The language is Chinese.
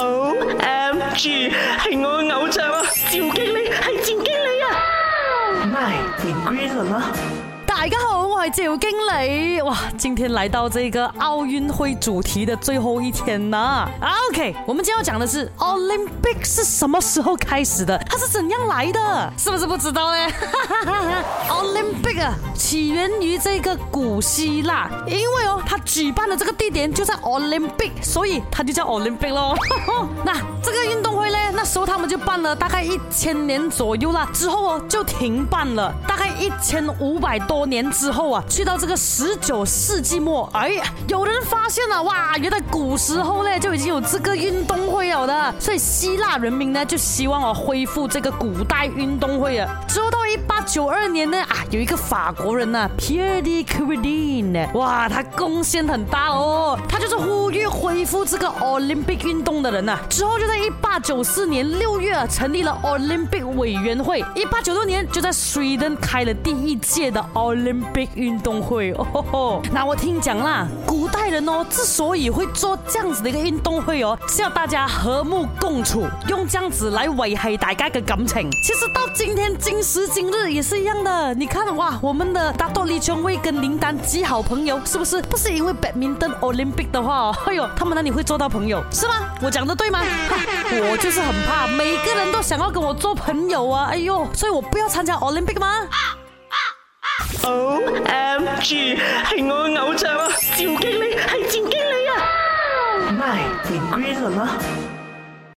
OMG， 係我嘅偶像啊！趙經理係趙經理啊！MY， 你 green 了嗎？ 大家好，我係趙經理。哇，今天來到這個奧運會主題的最後一天啦。OK， 我們今天要講的是 Olympic 是什麼時候開始的？它是怎樣來的？是不是不知道呢？Olympic 啊，起源於這個古希臘，因為它舉辦的這個地點就在 Olympic， 所以它就叫 Olympic 咯。那這個運動會呢，那時候他們就辦了大概1000年左右啦，之後就停辦了，大概1500多年之後啊，去到這個19世紀末，哎，有人發現了，哇，原來古時候呢就已經有這個運動會了的，所以希臘人民呢就希望恢復這個古代運動會啊。之後到1892年呢，有一個法國人啊 Pierre de Coubertin， 哇，他貢獻很大哦，他就是呼籲恢復這個 Olympic 運動的人啊。之後就在1894年6月成立了 Olympic 委員會，1896年就在 Sweden 開了第一屆的 Olympic 運動會哦。那我聽講啦，古代人哦之所以會做這樣子的一個運動會哦，是要大家和睦共處，用這樣子來維繫大家的感情。其實到今天今時今日也是一樣的，你看哇，我們的大多李瓊蔚跟林丹極好朋友，是不是？不是因為 Badminton Olympic 的話哦，哎呦，他們哪裡會做到朋友？是嗎？我講的對嗎？我就是很怕每個人都想要跟我做朋友啊，哎呦，所以我不要參加 Olympic 嗎 ？OMG， 係我嘅偶像啊！趙經理係趙經理啊！MY，你 green 了嗎？